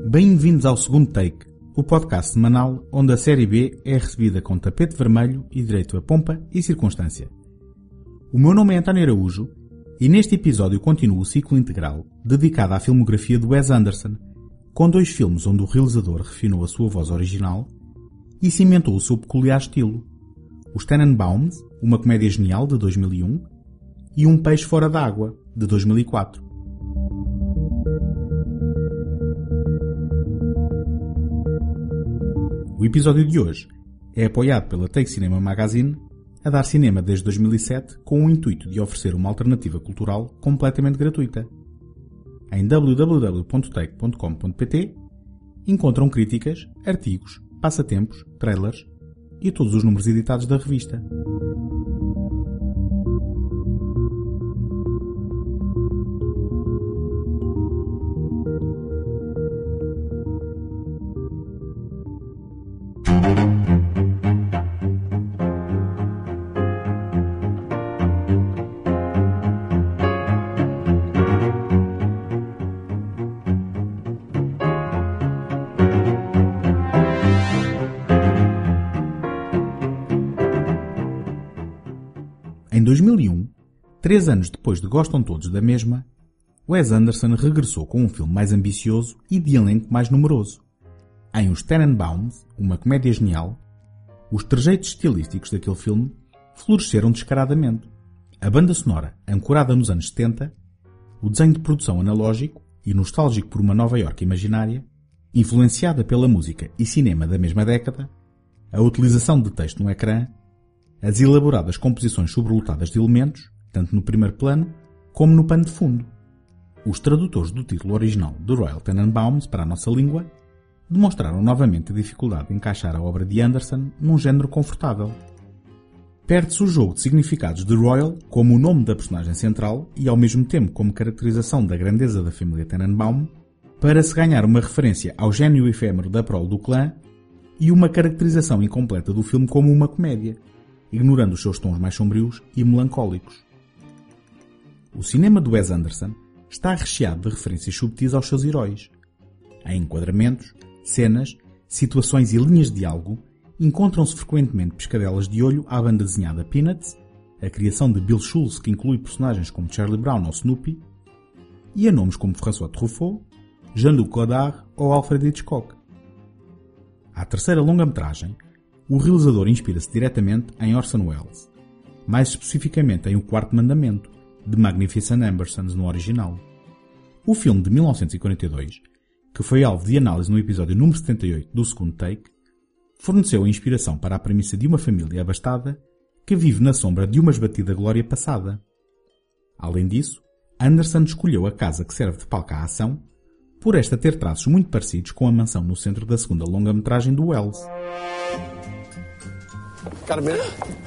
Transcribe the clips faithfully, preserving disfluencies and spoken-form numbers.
Bem-vindos ao segundo take, o podcast semanal onde a série B é recebida com tapete vermelho e direito a pompa e circunstância. O meu nome é António Araújo e neste episódio continuo o ciclo integral dedicado à filmografia de Wes Anderson, com dois filmes onde o realizador refinou a sua voz original e cimentou o seu peculiar estilo. Os Tenenbaums, uma comédia genial de dois mil e um, e Um Peixe Fora d'Água, de dois mil e quatro. O episódio de hoje é apoiado pela Take Cinema Magazine, a dar cinema desde dois mil e sete com o intuito de oferecer uma alternativa cultural completamente gratuita. Em w w w ponto take ponto com ponto p t encontram críticas, artigos, passatempos, trailers e todos os números editados da revista. Em dois mil e um, três anos depois de Gostam Todos da Mesma, Wes Anderson regressou com um filme mais ambicioso e de elenco mais numeroso. Em Os Tenenbaums, uma comédia genial, os trejeitos estilísticos daquele filme floresceram descaradamente. A banda sonora, ancorada nos anos setenta, o desenho de produção analógico e nostálgico por uma Nova Iorque imaginária, influenciada pela música e cinema da mesma década, a utilização de texto no ecrã, as elaboradas composições sobrelotadas de elementos, tanto no primeiro plano como no pano de fundo. Os tradutores do título original de Royal Tenenbaums para a nossa língua demonstraram novamente a dificuldade de encaixar a obra de Anderson num género confortável. Perde-se o jogo de significados de Royal como o nome da personagem central e ao mesmo tempo como caracterização da grandeza da família Tenenbaum, para se ganhar uma referência ao gênio efêmero da prole do clã e uma caracterização incompleta do filme como uma comédia, ignorando os seus tons mais sombrios e melancólicos. O cinema de Wes Anderson está recheado de referências subtis aos seus heróis. Em enquadramentos, cenas, situações e linhas de diálogo, encontram-se frequentemente pescadelas de olho à banda desenhada Peanuts, a criação de Bill Schulz que inclui personagens como Charlie Brown ou Snoopy, e a nomes como François Truffaut, Jean-Luc Godard ou Alfred Hitchcock. À terceira longa-metragem, o realizador inspira-se diretamente em Orson Welles, mais especificamente em O Quarto Mandamento, de Magnificent Ambersons no original. O filme de mil novecentos e quarenta e dois, que foi alvo de análise no episódio número setenta e oito do segundo take, forneceu a inspiração para a premissa de uma família abastada que vive na sombra de uma esbatida glória passada. Além disso, Anderson escolheu a casa que serve de palco à ação, por esta ter traços muito parecidos com a mansão no centro da segunda longa-metragem do Welles. Got a minute?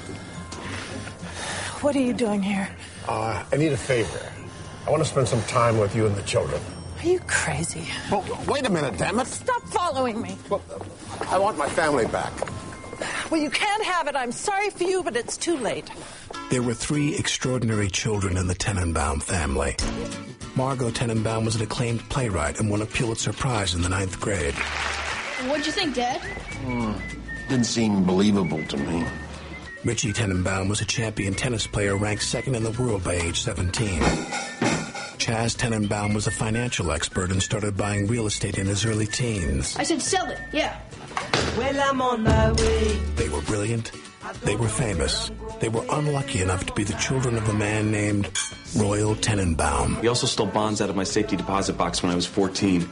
What are you doing here? Uh, I need a favor. I want to spend some time with you and the children. Are you crazy? Well, wait a minute, damn it. Stop following me. Well, I want my family back. Well, you can't have it. I'm sorry for you, but it's too late. There were three extraordinary children in the Tenenbaum family. Margot Tenenbaum was an acclaimed playwright and won a Pulitzer Prize in the ninth grade. What'd you think, Dad? Hmm. Didn't seem believable to me. Richie Tenenbaum was a champion tennis player ranked second in the world by age seventeen. Chaz Tenenbaum was a financial expert and started buying real estate in his early teens. I said sell it, yeah. Well, I'm on my way. They were brilliant. They were famous. They were unlucky enough to be the children of a man named Royal Tenenbaum. He also stole bonds out of my safety deposit box when I was fourteen.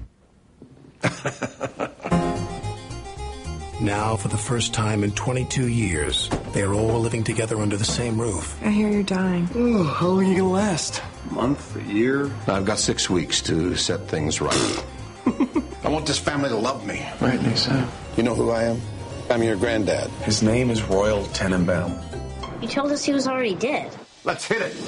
Now, for the first time in twenty-two years, they are all living together under the same roof. I hear you're dying. Oh, how long are you going to last? A month, a year? I've got six weeks to set things right. I want this family to love me. Right, Lisa. You know who I am? I'm your granddad. His name is Royal Tenenbaum. You told us he was already dead. Let's hit it.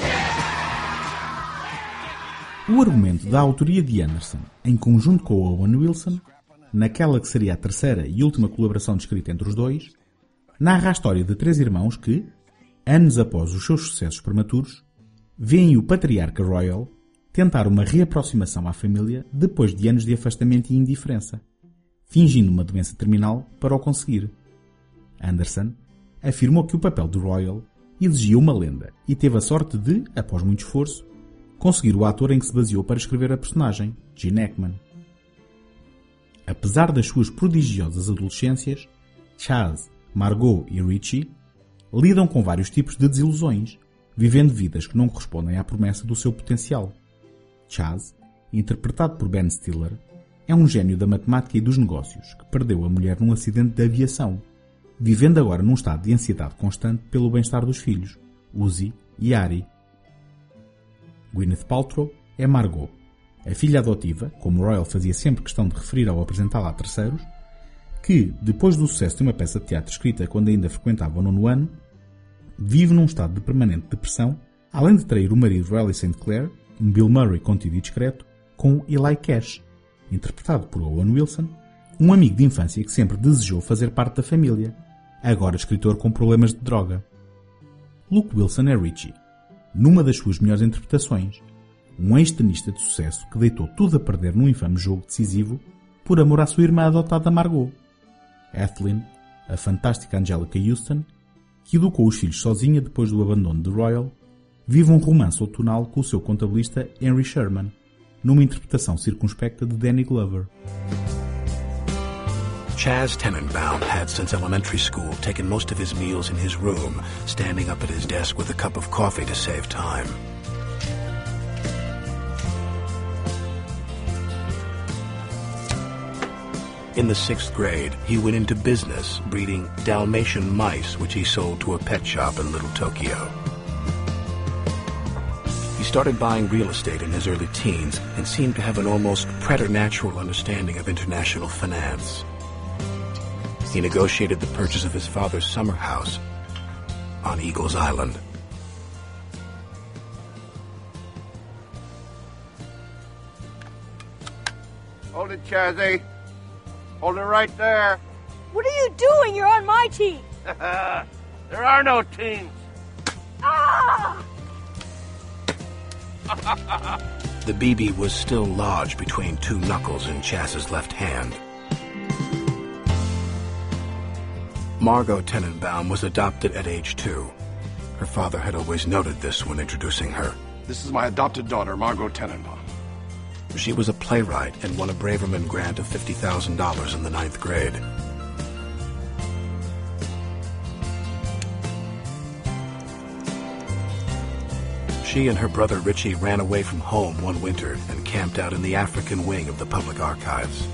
O argumento da autoria de Anderson, em conjunto com Owen Wilson, naquela que seria a terceira e última colaboração descrita entre os dois, narra a história de três irmãos que, anos após os seus sucessos prematuros, veem o patriarca Royal tentar uma reaproximação à família depois de anos de afastamento e indiferença, fingindo uma doença terminal para o conseguir. Anderson afirmou que o papel de Royal exigia uma lenda e teve a sorte de, após muito esforço, conseguir o ator em que se baseou para escrever a personagem, Gene Hackman. Apesar das suas prodigiosas adolescências, Chaz, Margot e Richie lidam com vários tipos de desilusões, vivendo vidas que não correspondem à promessa do seu potencial. Chaz, interpretado por Ben Stiller, é um gênio da matemática e dos negócios que perdeu a mulher num acidente de aviação, vivendo agora num estado de ansiedade constante pelo bem-estar dos filhos, Uzi e Ari. Gwyneth Paltrow é Margot, a filha adotiva, como Royal fazia sempre questão de referir ao apresentá-la a terceiros, que, depois do sucesso de uma peça de teatro escrita quando ainda frequentava o nono ano, vive num estado de permanente depressão, além de trair o marido Riley Saint Clair, um Bill Murray contido e discreto, com Eli Cash, interpretado por Owen Wilson, um amigo de infância que sempre desejou fazer parte da família, agora escritor com problemas de droga. Luke Wilson é Richie, numa das suas melhores interpretações, um ex-tenista de sucesso que deitou tudo a perder num infame jogo decisivo por amor à sua irmã adotada Margot. Ethelyn, a fantástica Angelica Houston, que educou os filhos sozinha depois do abandono de Royal, vive um romance outonal com o seu contabilista Henry Sherman, numa interpretação circunspecta de Danny Glover. Chaz Tenenbaum had since elementary school taken most of his meals in his room, standing up at his desk with a cup of coffee to save time. In the sixth grade, he went into business, breeding Dalmatian mice, which he sold to a pet shop in Little Tokyo. He started buying real estate in his early teens and seemed to have an almost preternatural understanding of international finance. He negotiated the purchase of his father's summer house on Eagles Island. Hold it, Chazzy. Hold it right there. What are you doing? You're on my team. There are no teams. Ah! The B B was still lodged between two knuckles in Chaz's left hand. Margot Tenenbaum was adopted at age two. Her father had always noted this when introducing her. This is my adopted daughter, Margot Tenenbaum. She was a playwright and won a Braverman grant of fifty thousand dollars in the ninth grade. She and her brother Richie ran away from home one winter and camped out in the African wing of the public archives.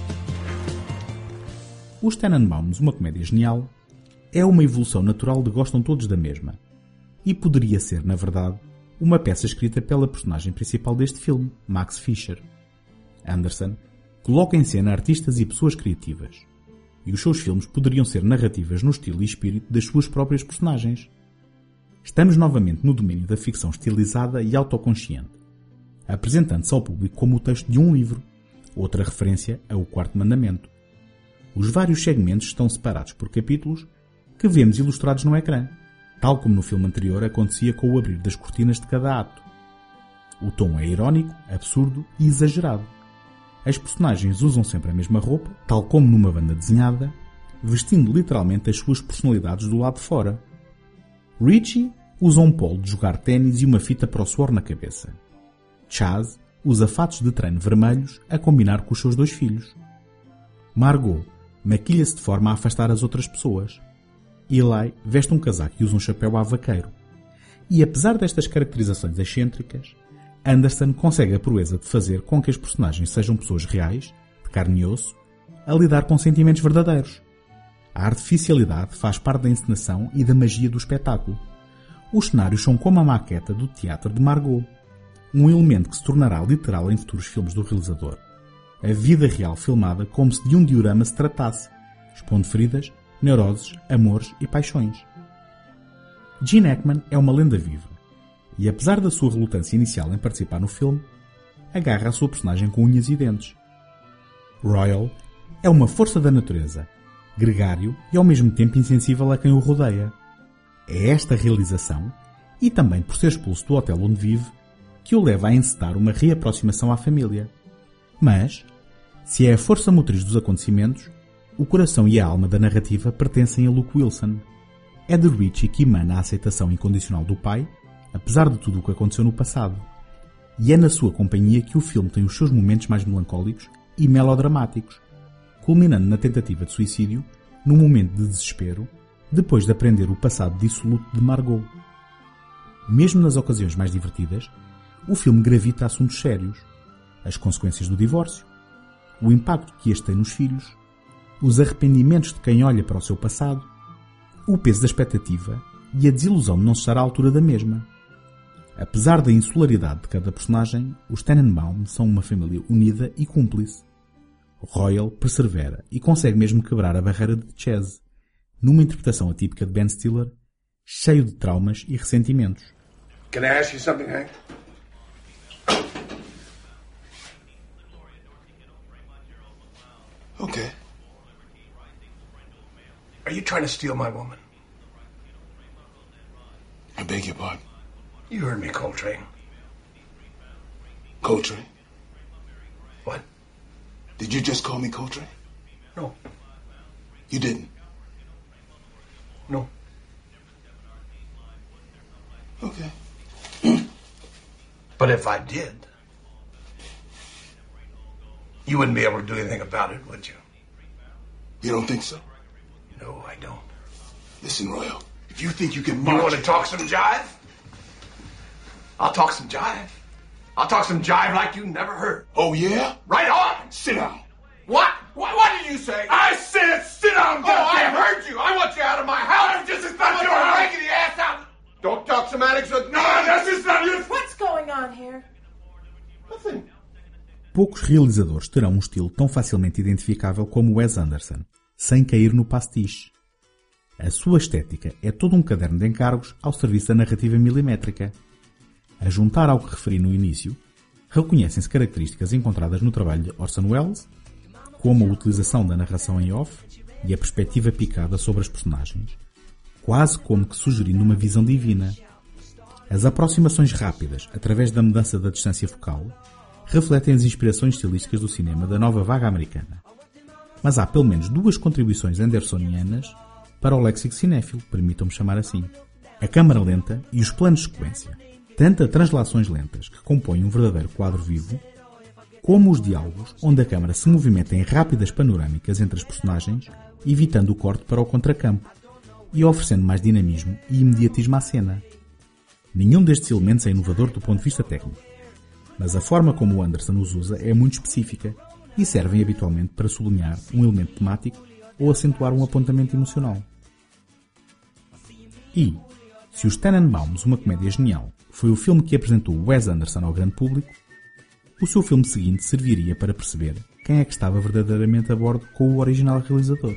Os Tenenbaums, uma comédia genial, é uma evolução natural de Gostam Todos da Mesma, e poderia ser, na verdade, uma peça escrita pela personagem principal deste filme, Max Fischer. Anderson coloca em cena artistas e pessoas criativas, e os seus filmes poderiam ser narrativas no estilo e espírito das suas próprias personagens. Estamos novamente no domínio da ficção estilizada e autoconsciente, apresentando-se ao público como o texto de um livro, outra referência ao Quarto Mandamento. Os vários segmentos estão separados por capítulos que vemos ilustrados no ecrã, tal como no filme anterior acontecia com o abrir das cortinas de cada ato. O tom é irónico, absurdo e exagerado. As personagens usam sempre a mesma roupa, tal como numa banda desenhada, vestindo literalmente as suas personalidades do lado de fora. Richie usa um polo de jogar ténis e uma fita para o suor na cabeça. Chaz usa fatos de treino vermelhos a combinar com os seus dois filhos. Margot maquilha-se de forma a afastar as outras pessoas. Eli veste um casaco e usa um chapéu a vaqueiro. E apesar destas caracterizações excêntricas, Anderson consegue a proeza de fazer com que as personagens sejam pessoas reais, de carne e osso, a lidar com sentimentos verdadeiros. A artificialidade faz parte da encenação e da magia do espetáculo. Os cenários são como a maqueta do teatro de Margot, um elemento que se tornará literal em futuros filmes do realizador. A vida real filmada como se de um diorama se tratasse, expondo feridas, neuroses, amores e paixões. Gene Hackman é uma lenda viva, e apesar da sua relutância inicial em participar no filme, agarra a sua personagem com unhas e dentes. Royal é uma força da natureza, gregário e ao mesmo tempo insensível a quem o rodeia. É esta realização, e também por ser expulso do hotel onde vive, que o leva a encetar uma reaproximação à família. Mas, se é a força motriz dos acontecimentos, o coração e a alma da narrativa pertencem a Luke Wilson. É de Richie que emana a aceitação incondicional do pai, apesar de tudo o que aconteceu no passado. E é na sua companhia que o filme tem os seus momentos mais melancólicos e melodramáticos, culminando na tentativa de suicídio, num momento de desespero, depois de aprender o passado dissoluto de Margot. Mesmo nas ocasiões mais divertidas, o filme gravita assuntos sérios: as consequências do divórcio, o impacto que este tem nos filhos, os arrependimentos de quem olha para o seu passado, o peso da expectativa e a desilusão de não estar à altura da mesma. Apesar da insularidade de cada personagem, os Tenenbaum são uma família unida e cúmplice. Royal persevera e consegue mesmo quebrar a barreira de Chaz, numa interpretação atípica de Ben Stiller, cheio de traumas e ressentimentos. Can I ask you something, Hank? Okay. Are you trying to steal my woman? I beg your pardon. You heard me, Coltrane. Coltrane? What? Did you just call me Coltrane? No. You didn't? No. Okay. But if I did, you wouldn't be able to do anything about it, would you? You don't think so? No, I don't. Listen, Royal, if you think you can You march... want to talk some jive? I'll talk some jive. I'll talk some jive like you never heard. Oh, yeah? Right on! Sit down. What? What, what did you say? I said sit down, Oh, I goddammit. heard you. I want you out of my house. I'm just as bad as your your house. raggedy ass out. Don't talk semantics with No, that's just not you. What's going on here? Nothing. Poucos realizadores terão um estilo tão facilmente identificável como Wes Anderson, sem cair no pastiche. A sua estética é todo um caderno de encargos ao serviço da narrativa milimétrica. A juntar ao que referi no início, reconhecem-se características encontradas no trabalho de Orson Welles, como a utilização da narração em off e a perspectiva picada sobre as personagens, quase como que sugerindo uma visão divina. As aproximações rápidas, através da mudança da distância focal, refletem as inspirações estilísticas do cinema da nova vaga americana. Mas há pelo menos duas contribuições andersonianas para o léxico cinéfilo, permitam-me chamar assim: a câmara lenta e os planos de sequência. Tanto as translações lentas, que compõem um verdadeiro quadro vivo, como os diálogos, onde a câmara se movimenta em rápidas panorâmicas entre as personagens, evitando o corte para o contracampo e oferecendo mais dinamismo e imediatismo à cena. Nenhum destes elementos é inovador do ponto de vista técnico, mas a forma como o Anderson os usa é muito específica e servem habitualmente para sublinhar um elemento temático ou acentuar um apontamento emocional. E, se os Tenenbaums, uma comédia genial, foi o filme que apresentou Wes Anderson ao grande público, o seu filme seguinte serviria para perceber quem é que estava verdadeiramente a bordo com o original realizador.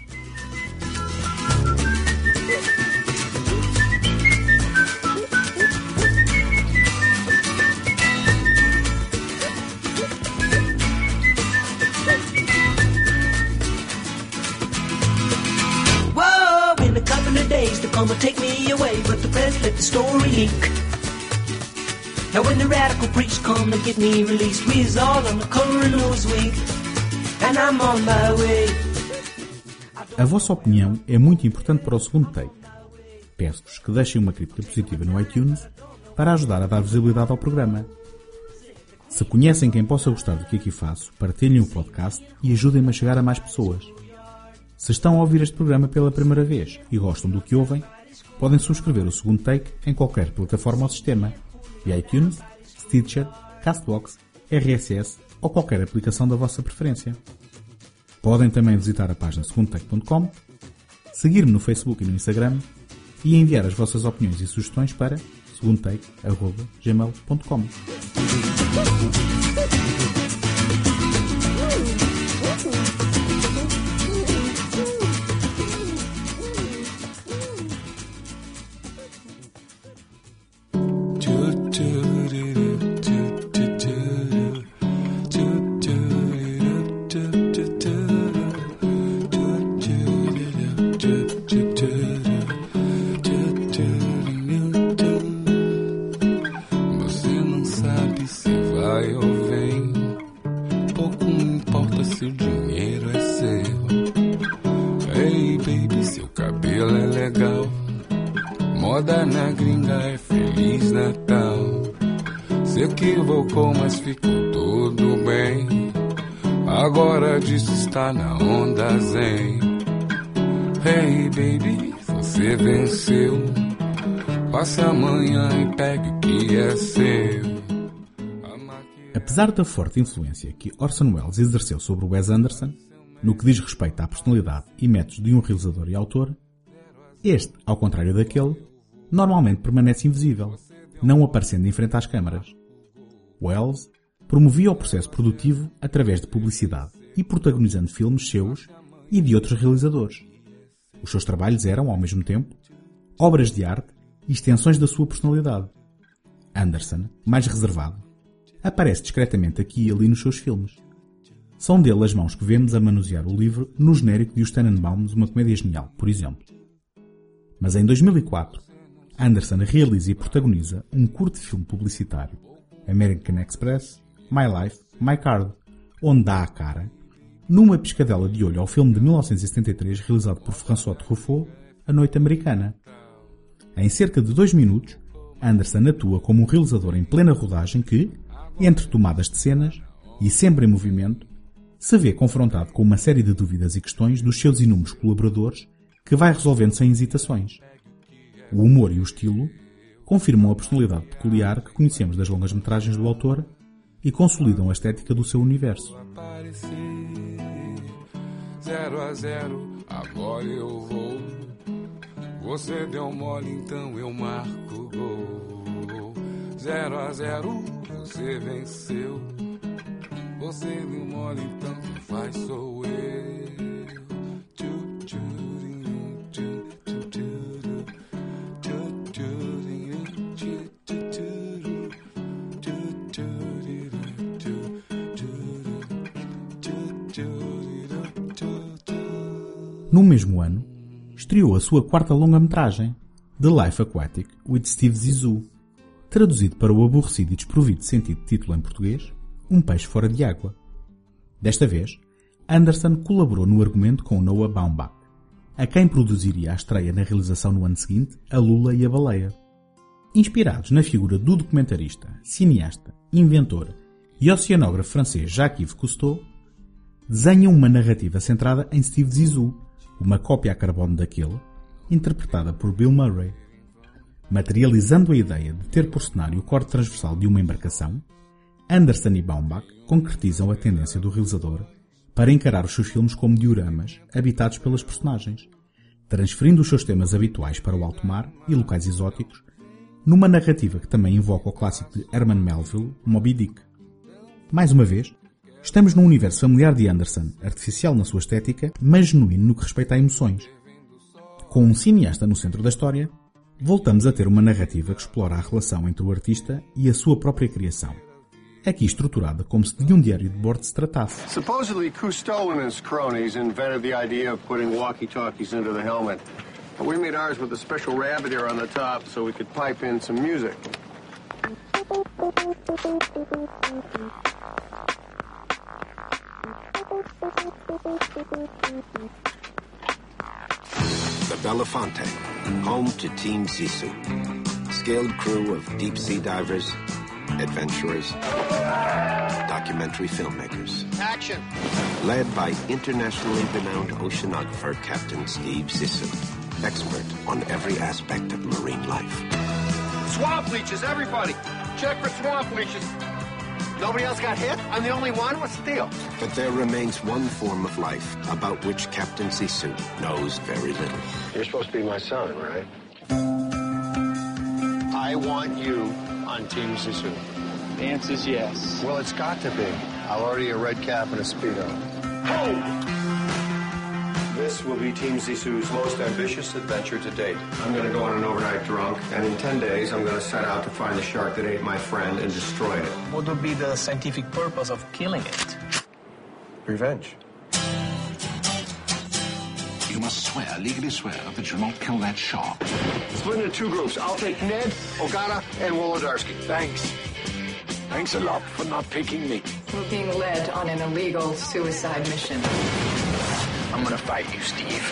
Whoa, in a couple of days they're gonna take me away, but the press let the story leak. Now when the radical preach come to get me released, we's all on the cover of Newsweek, and I'm on my way. A vossa opinião é muito importante para o segundo take. Peço-vos que deixem uma crítica positiva no iTunes para ajudar a dar visibilidade ao programa. Se conhecem quem possa gostar do que aqui faço, partilhem o podcast e ajudem-me a chegar a mais pessoas. Se estão a ouvir este programa pela primeira vez e gostam do que ouvem, podem subscrever o segundo take em qualquer plataforma ou sistema, via iTunes, Stitcher, Castbox, R S S ou qualquer aplicação da vossa preferência. Podem também visitar a página segundo take ponto com, seguir-me no Facebook e no Instagram e enviar as vossas opiniões e sugestões para segundo take arroba gmail ponto com. Você não sabe. Agora disso está na onda zen. Hey baby, você venceu. Passe amanhã e pegue o que é seu. Apesar da forte influência que Orson Welles exerceu sobre Wes Anderson, no que diz respeito à personalidade e métodos de um realizador e autor, este, ao contrário daquele, normalmente permanece invisível, não aparecendo em frente às câmaras. Welles promovia o processo produtivo através de publicidade e protagonizando filmes seus e de outros realizadores. Os seus trabalhos eram, ao mesmo tempo, obras de arte e extensões da sua personalidade. Anderson, mais reservado, aparece discretamente aqui e ali nos seus filmes. São dele as mãos que vemos a manusear o livro no genérico de Os Tenenbaums, Uma Comédia Genial, por exemplo. Mas em dois mil e quatro, Anderson realiza e protagoniza um curto filme publicitário, American Express, My Life, My Card, onde dá a cara, numa piscadela de olho ao filme de mil novecentos e setenta e três realizado por François Truffaut, A Noite Americana. Em cerca de dois minutos, Anderson atua como um realizador em plena rodagem que, entre tomadas de cenas, e sempre em movimento, se vê confrontado com uma série de dúvidas e questões dos seus inúmeros colaboradores que vai resolvendo sem hesitações. O humor e o estilo confirmam a personalidade peculiar que conhecemos das longas-metragens do autor e consolidam a estética do seu universo. Zero a zero, agora eu vou. Você deu mole, então eu marco gol. Zero a zero, você venceu. Você deu mole, então quem faz sou eu. No mesmo ano, estreou a sua quarta longa-metragem, The Life Aquatic with Steve Zissou, traduzido para o aborrecido e desprovido de sentido de título em português, Um Peixe Fora de Água. Desta vez, Anderson colaborou no argumento com Noah Baumbach, a quem produziria a estreia na realização no ano seguinte, A Lula e a Baleia. Inspirados na figura do documentarista, cineasta, inventor e oceanógrafo francês Jacques-Yves Cousteau, desenham uma narrativa centrada em Steve Zissou, uma cópia a carbono daquele, interpretada por Bill Murray. Materializando a ideia de ter por cenário o corte transversal de uma embarcação, Anderson e Baumbach concretizam a tendência do realizador para encarar os seus filmes como dioramas habitados pelas personagens, transferindo os seus temas habituais para o alto mar e locais exóticos, numa narrativa que também invoca o clássico de Herman Melville, Moby Dick. Mais uma vez, estamos num universo familiar de Anderson, artificial na sua estética, mas genuíno no que respeita a emoções. Com um cineasta no centro da história, voltamos a ter uma narrativa que explora a relação entre o artista e a sua própria criação, aqui estruturada como se de um diário de bordo se tratasse. Supposedly, Cousteau and his cronies invented the idea of putting walkie-talkies into the helmet. But we made ours with a special rabbit ear on the top so we could pipe in some music. The Belafonte, home to Team Zissou. Skilled crew of deep-sea divers, adventurers, documentary filmmakers. Action! Led by internationally renowned oceanographer Captain Steve Zissou, expert on every aspect of marine life. Swamp leeches, everybody! Check for swamp leeches. Nobody else got hit? I'm the only one? What's the deal? But there remains one form of life about which Captain Zissou knows very little. You're supposed to be my son, right? I want you on Team Zissou. The answer's yes. Well, it's got to be. I'll order you a red cap and a Speedo. Ho! This will be Team Zissou's most ambitious adventure to date. I'm going to go on an overnight drunk, and in ten days, I'm going to set out to find the shark that ate my friend and destroy it. What would be the scientific purpose of killing it? Revenge. You must swear, legally swear, that you'll not kill that shark. Split into two groups. I'll take Ned, Ogata, and Wolodarski. Thanks. Thanks a lot for not picking me. We're being led on an illegal suicide mission. I'm gonna fight you, Steve.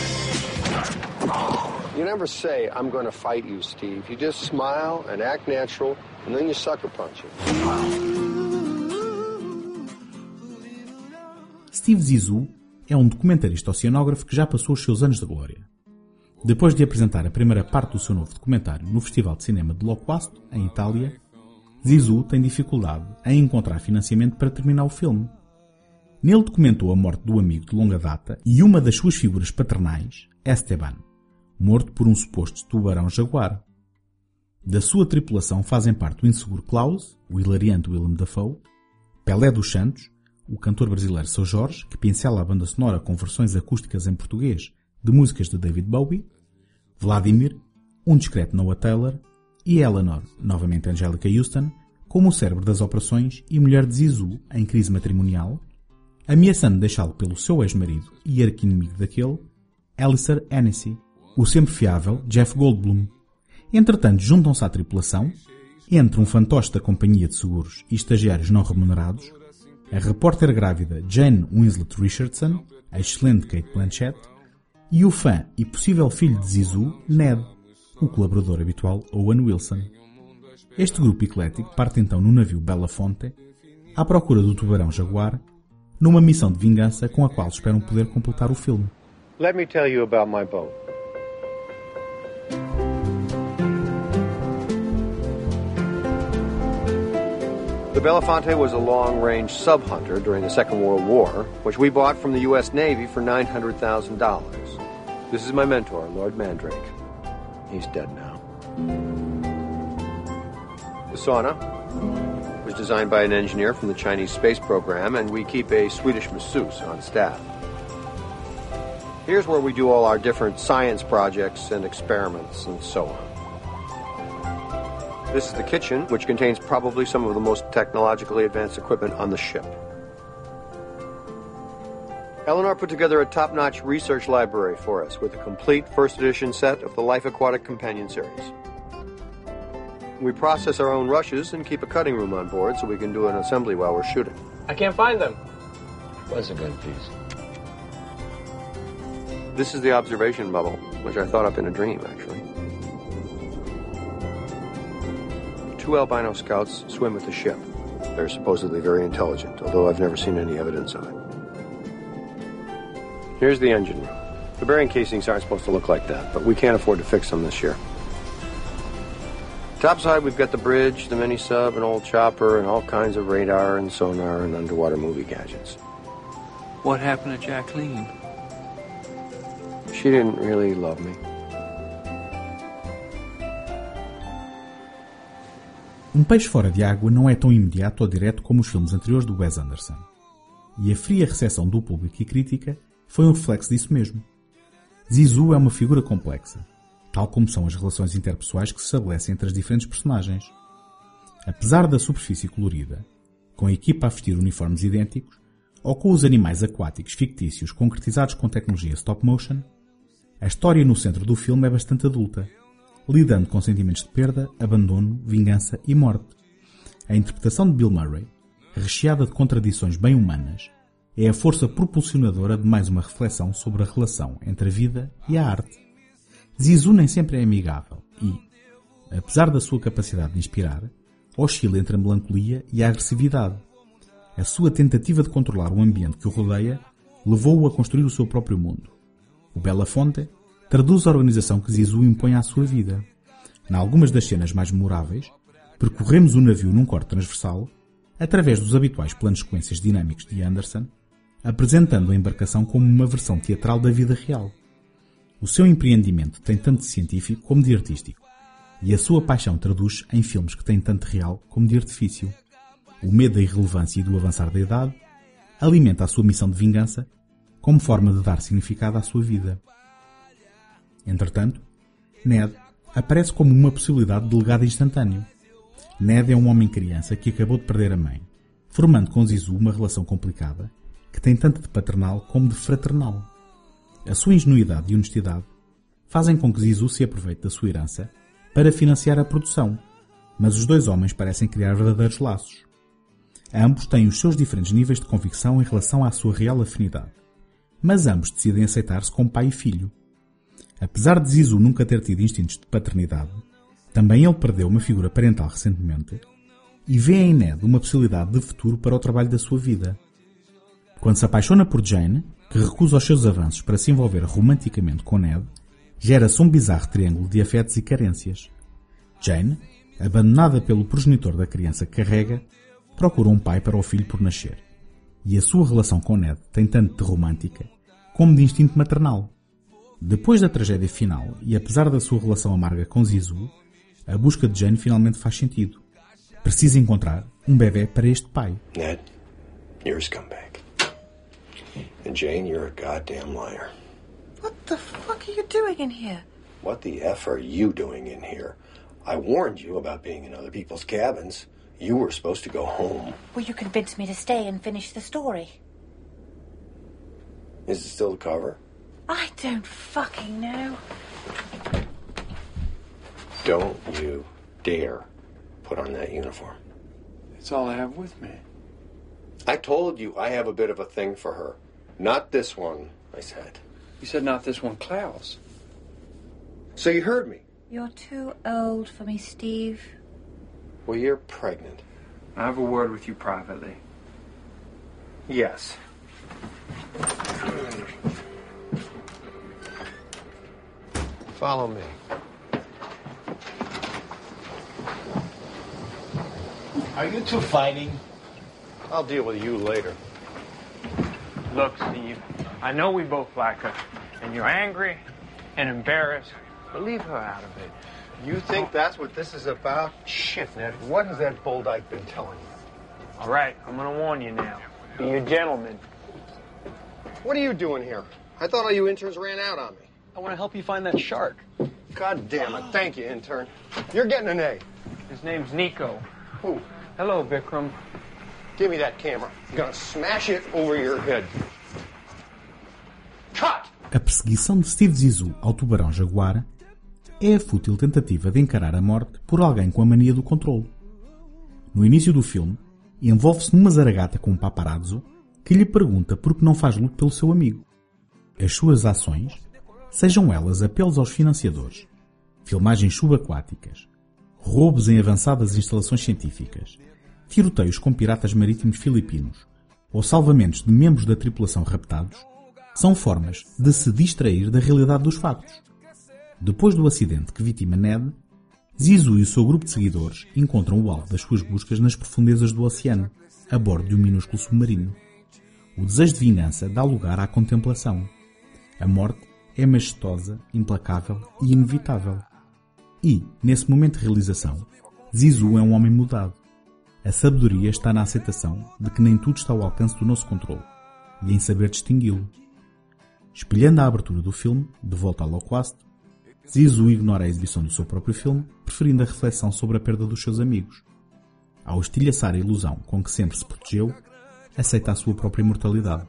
You never say, I'm gonna fight you, Steve. You just smile and act natural, and then you sucker punch it. Steve Zissou é um documentarista oceanógrafo que já passou os seus anos de glória. Depois de apresentar a primeira parte do seu novo documentário no Festival de Cinema de Loquasto, em Itália, Zissou tem dificuldade em encontrar financiamento para terminar o filme. Nele documentou a morte do amigo de longa data e uma das suas figuras paternais, Esteban, morto por um suposto tubarão-jaguar. Da sua tripulação fazem parte o inseguro Klaus, o hilariante Willem Dafoe, Pelé dos Santos, o cantor brasileiro Seu Jorge, que pincela a banda sonora com versões acústicas em português de músicas de David Bowie, Vladimir, um discreto Noah Taylor e Eleanor, novamente Angélica Houston, como o cérebro das operações e mulher de Zissou em crise matrimonial, ameaçando deixá-lo pelo seu ex-marido e arqui-inimigo daquele, Alistair Hennessy, o sempre fiável Jeff Goldblum. Entretanto, juntam-se à tripulação, entre um fantoche da companhia de seguros e estagiários não remunerados, a repórter grávida Jane Winslet Richardson, a excelente Cate Blanchett, e o fã e possível filho de Zissou, Ned, o colaborador habitual Owen Wilson. Este grupo eclético parte então no navio Belafonte à procura do tubarão-jaguar, numa missão de vingança com a qual esperam poder completar o filme. Let me tell you about my boat. The Belafonte was a long-range sub-hunter during the Second World War, which we bought from the U S Navy for nine hundred thousand dollars. This is my mentor, Lord Mandrake. He's dead now. The sauna was designed by an engineer from the Chinese space program, and we keep a Swedish masseuse on staff. Here's where we do all our different science projects and experiments and so on. This is the kitchen, which contains probably some of the most technologically advanced equipment on the ship. Eleanor put together a top-notch research library for us with a complete first edition set of the Life Aquatic Companion series. We process our own rushes and keep a cutting room on board so we can do an assembly while we're shooting. I can't find them. Where's a good piece? This is the observation bubble, which I thought up in a dream, actually. Two albino scouts swim with the ship. They're supposedly very intelligent, although I've never seen any evidence of it. Here's the engine room. The bearing casings aren't supposed to look like that, but we can't afford to fix them this year. Topside, we've got the bridge, the mini-sub, an old chopper, and all kinds of radar and sonar and underwater movie gadgets. What happened to Jacqueline? She didn't really love me. Um peixe fora de água não é tão imediato ou direto como os filmes anteriores do Wes Anderson. E a fria recepção do público e crítica foi um reflexo disso mesmo. Zissou é uma figura complexa, tal como são as relações interpessoais que se estabelecem entre as diferentes personagens. Apesar da superfície colorida, com a equipa a vestir uniformes idênticos, ou com os animais aquáticos fictícios concretizados com tecnologia stop motion, a história no centro do filme é bastante adulta, lidando com sentimentos de perda, abandono, vingança e morte. A interpretação de Bill Murray, recheada de contradições bem humanas, é a força propulsionadora de mais uma reflexão sobre a relação entre a vida e a arte. Zissou nem sempre é amigável e, apesar da sua capacidade de inspirar, oscila entre a melancolia e a agressividade. A sua tentativa de controlar o ambiente que o rodeia levou-o a construir o seu próprio mundo. O Belafonte traduz a organização que Zissou impõe à sua vida. Em algumas das cenas mais memoráveis, percorremos o navio num corte transversal, através dos habituais planos sequências dinâmicos de Anderson, apresentando a embarcação como uma versão teatral da vida real. O seu empreendimento tem tanto de científico como de artístico, e a sua paixão traduz em filmes que têm tanto de real como de artifício. O medo da irrelevância e do avançar da idade alimenta a sua missão de vingança como forma de dar significado à sua vida. Entretanto, Ned aparece como uma possibilidade de legado instantâneo. Ned é um homem-criança que acabou de perder a mãe, formando com Zissou uma relação complicada que tem tanto de paternal como de fraternal. A sua ingenuidade e honestidade fazem com que Zissou se aproveite da sua herança para financiar a produção, mas os dois homens parecem criar verdadeiros laços. Ambos têm os seus diferentes níveis de convicção em relação à sua real afinidade, mas ambos decidem aceitar-se como pai e filho. Apesar de Zissou nunca ter tido instintos de paternidade, também ele perdeu uma figura parental recentemente e vê em Ned uma possibilidade de futuro para o trabalho da sua vida. Quando se apaixona por Jane, que recusa os seus avanços para se envolver romanticamente com Ned, gera-se um bizarro triângulo de afetos e carências. Jane, abandonada pelo progenitor da criança que carrega, procura um pai para o filho por nascer. E a sua relação com Ned tem tanto de romântica como de instinto maternal. Depois da tragédia final, e apesar da sua relação amarga com Zizou, a busca de Jane finalmente faz sentido. Precisa encontrar um bebê para este pai. Ned, you're a scumbag. And Jane, you're a goddamn liar. What the fuck are you doing in here? What the F are you doing in here? I warned you about being in other people's cabins. You were supposed to go home. Well, you convinced me to stay and finish the story. Is it still the cover? I don't fucking know. Don't you dare put on that uniform. It's all I have with me. I told you I have a bit of a thing for her. Not this one, I said. You said not this one, Klaus. So you heard me. You're too old for me, Steve. Well, you're pregnant. I have a word with you privately. Yes. Follow me. Are you two fighting? I'll deal with you later. Look, Steve, I know we both like her, and you're angry and embarrassed, but leave her out of it. You think that's what this is about? Shit, Ned. What has that Boldyke been telling you? All right, I'm gonna warn you now. Be a gentleman. What are you doing here? I thought all you interns ran out on me. I want to help you find that shark. God damn it. Thank you, intern. You're getting an A. His name's Nico. Who? Hello, Vikram. Give me that camera. I'm gonna smash it over your head. Cut! A perseguição de Steve Zissou ao tubarão-jaguar é a fútil tentativa de encarar a morte por alguém com a mania do controle. No início do filme, envolve-se numa zaragata com um paparazzo que lhe pergunta por que não faz luto pelo seu amigo. As suas ações, sejam elas apelos aos financiadores, filmagens subaquáticas, roubos em avançadas instalações científicas, tiroteios com piratas marítimos filipinos ou salvamentos de membros da tripulação raptados, são formas de se distrair da realidade dos factos. Depois do acidente que vitima Ned, Zissou e o seu grupo de seguidores encontram o alvo das suas buscas nas profundezas do oceano, a bordo de um minúsculo submarino. O desejo de vingança dá lugar à contemplação. A morte é majestosa, implacável e inevitável. E, nesse momento de realização, Zissou é um homem mudado. A sabedoria está na aceitação de que nem tudo está ao alcance do nosso controle e em saber distingui-lo. Espelhando a abertura do filme, De Volta ao Loquasto, Zissou ignora a exibição do seu próprio filme, preferindo a reflexão sobre a perda dos seus amigos. Ao estilhaçar a ilusão com que sempre se protegeu, aceita a sua própria imortalidade.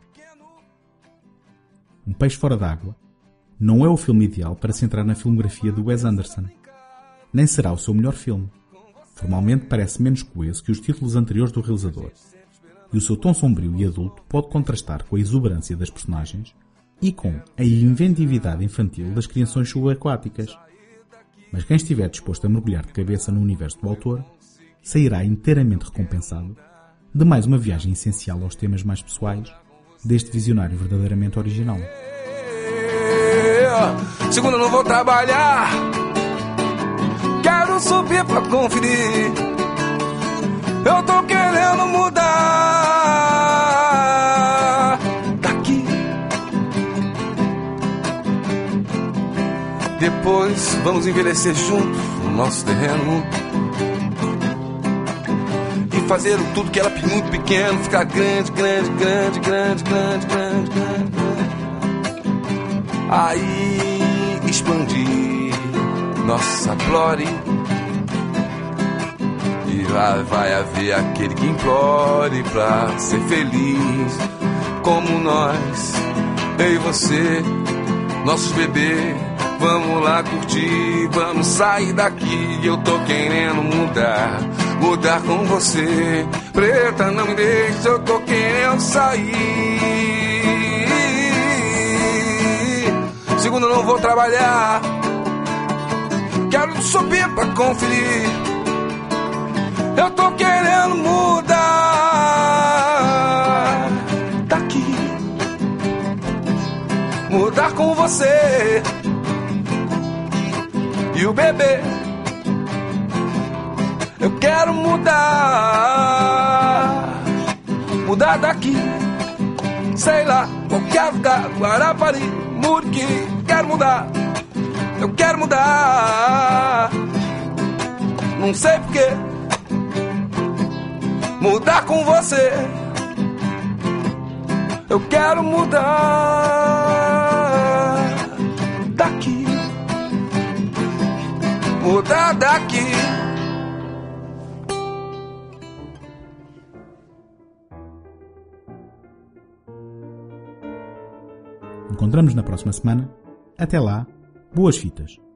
Um Peixe Fora d'Água não é o filme ideal para se entrar na filmografia de Wes Anderson. Nem será o seu melhor filme. Formalmente parece menos coeso que os títulos anteriores do realizador. E o seu tom sombrio e adulto pode contrastar com a exuberância das personagens e com a inventividade infantil das criações subaquáticas. Mas quem estiver disposto a mergulhar de cabeça no universo do autor, sairá inteiramente recompensado de mais uma viagem essencial aos temas mais pessoais deste visionário verdadeiramente original. Segunda não vou trabalhar, quero subir pra conferir. Eu tô querendo mudar daqui. Depois vamos envelhecer juntos no nosso terreno e fazer tudo que era muito pequeno ficar grande, grande, grande, grande, grande, grande, grande. Aí expandir nossa glória e vai, vai haver aquele que implore pra ser feliz como nós, eu e você, nossos bebês. Vamos lá curtir, vamos sair daqui. Eu tô querendo mudar, mudar com você. Preta, não me deixe, eu tô querendo sair. Segunda, não vou trabalhar, quero subir pra conferir. Eu tô querendo mudar daqui. mudar com você e o bebê. Eu quero mudar, mudar daqui, sei lá, qualquer lugar, Guarapari, Muriqui. Quero mudar, eu quero mudar, não sei porquê. Mudar com você, eu quero mudar daqui, mudar daqui. Encontramos na próxima semana. Até lá, boas fitas.